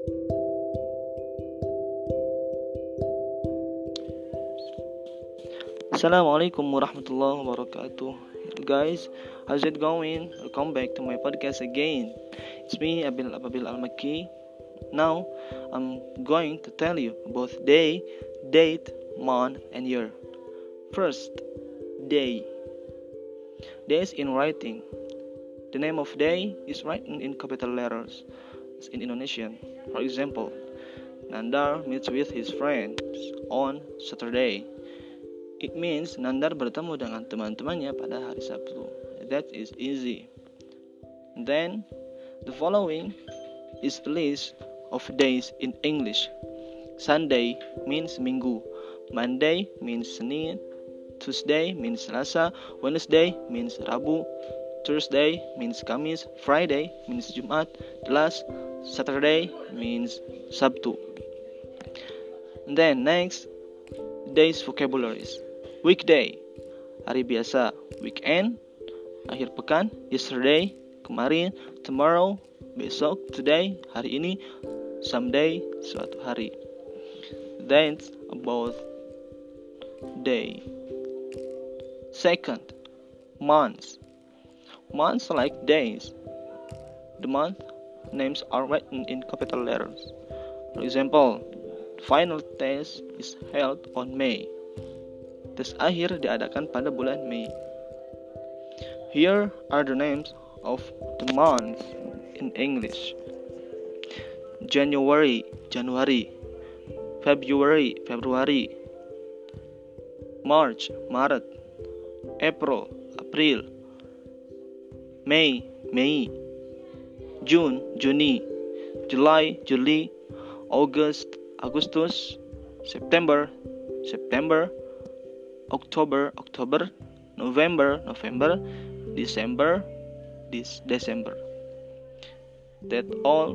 Assalamualaikum warahmatullahi wabarakatuh. Guys, how's it going? Welcome back to my podcast again. It's me, Abil Al-Makki. Now, I'm going to tell you about day, date, month, and year. First, day. Day is in writing. The name of day is written in capital letters, as in Indonesian. For example, Nandar meets with his friends on Saturday. It means Nandar bertemu dengan teman-temannya pada hari Sabtu. That is easy. Then, the following is a list of days in English. Sunday means Minggu. Monday means Senin. Tuesday means Selasa. Wednesday means Rabu. Thursday means Kamis. Friday means Jumat. The last, Saturday means Sabtu. And then next, days vocabularies. Weekday, hari biasa. Weekend, akhir pekan. Yesterday, kemarin. Tomorrow, besok. Today, hari ini. Someday, suatu hari. That's about day. Second, months. Months like days. The month names are written in capital letters. For example, the final test is held on May. Tes akhir diadakan pada bulan Mei. Here are the names of the months in English. January, Januari. February, Februari. March, Maret. April, April. May, Mei. June, Juni. July, Juli. August, Agustus. September, September. October, October. November, November. December, December. That all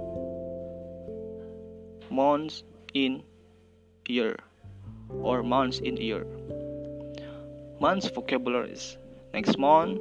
months in year or months in year. Months vocabularies. Next month,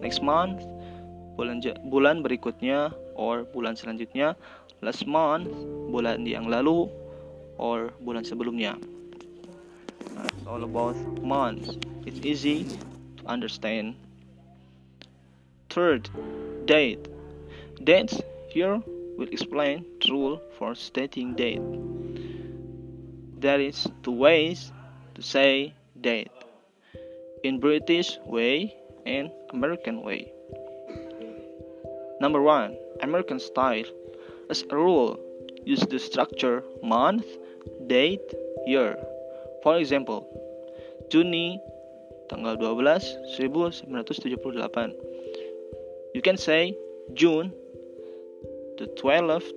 bulan berikutnya or bulan selanjutnya. Last month, bulan yang lalu or bulan sebelumnya. It's all about months. It's easy to understand. Third, date. Dates here will explain the rule for stating date. There is two ways to say date. In British way and American way. Number 1, American style. As a rule, use the structure month, date, year. For example, Juni tanggal 12 1978. You can say June the 12th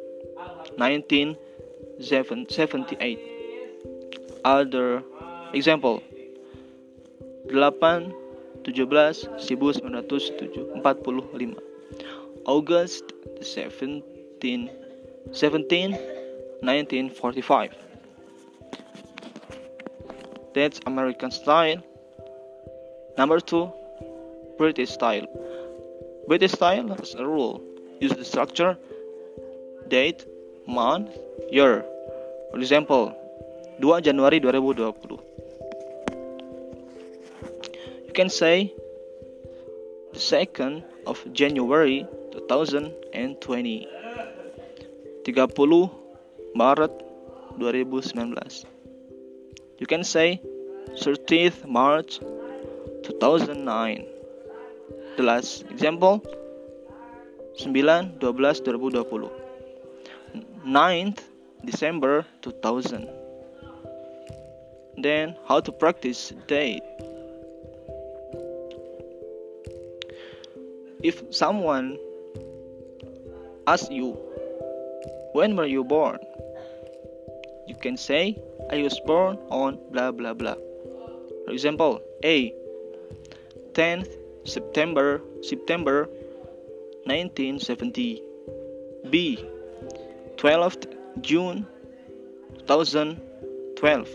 1978. Other example, 8/17/1945. August 17, 1945. That's American style. Number 2, British style. British style as a rule, use the structure date, month, year. For example, 2 Januari 2020. You can say the 2nd of January 2020. 30 Maret 2019. You can say 30th March 2009. The last example, 9/12/2020. 9th December 2000. Then how to practice date. If someone asks you, when were you born? You can say, I was born on blah blah blah. For example, A, 10th September 1970. B, 12th June 2012.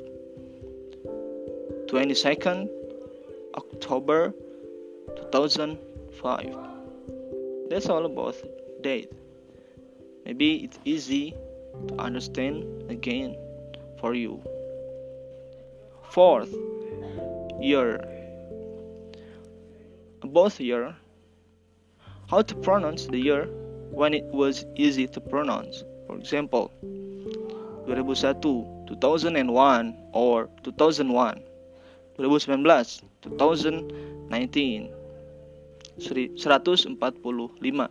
22nd October 2005. That's all about date. maybe it's easy to understand again for you. Fourth, year. About year, how to pronounce the year when it was easy to pronounce. For example, 2001, 2001 or 2001, 2019, 2019, 145,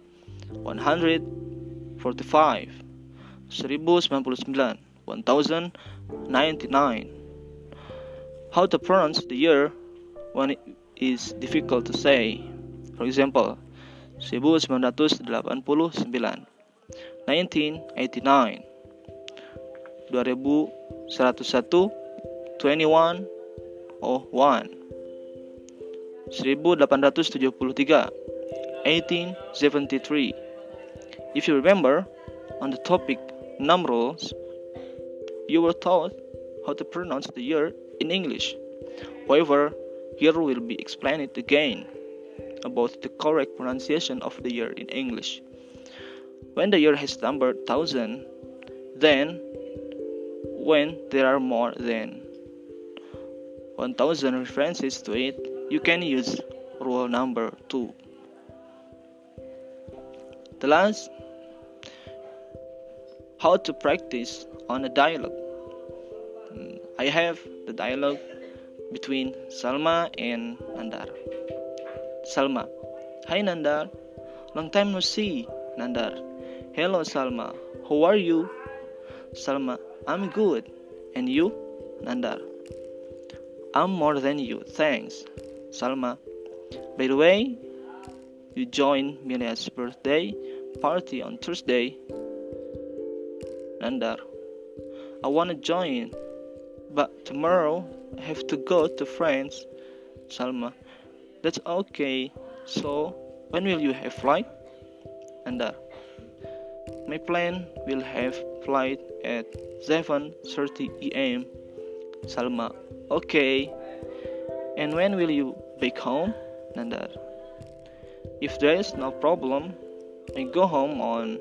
145, 1099, 1099. How to pronounce the year when it is difficult to say. For example, 1989, 1989, 2101, 2101, 1873, 1873. If you remember, on the topic numerals, you were taught how to pronounce the year in English. However, here will be explained again about the correct pronunciation of the year in English. When the year has number 1000, then when there are more than 1000 references to it, you can use rule number 2. The last, how to practice on a dialogue. I have the dialogue between Salma and Nandar. Salma: Hi Nandar, long time no see. Nandar: Hello Salma, how are you? Salma: I'm good. And you? Nandar: I'm more than you, thanks. Salma: By the way, you joined Milia's birthday party on Thursday. Nandar: I wanna join, but tomorrow I have to go to France. Salma: That's okay. So, when will you have flight? Nandar: My plan will have flight at 7:30 a.m. Salma: Okay. And when will you back home? Nandar: If there is no problem, I go home on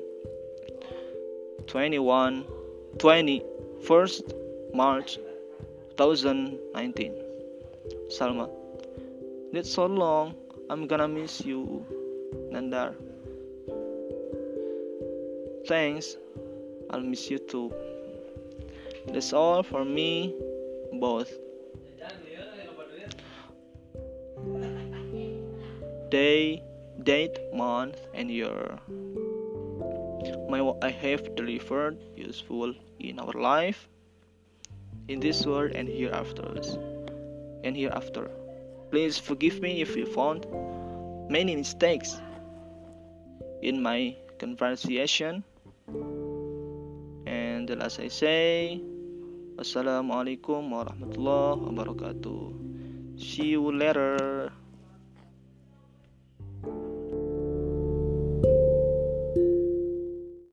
21st March 2019. Salma: That's so long, I'm gonna miss you. Nandar: Thanks, I'll miss you too. That's all for me, both. Day, date, month, and year. I have delivered useful in our life, in this world and hereafter. Please forgive me if you found many mistakes in my conversation. And the last I say, Wassalamualaikum warahmatullahi wabarakatuh. See you later.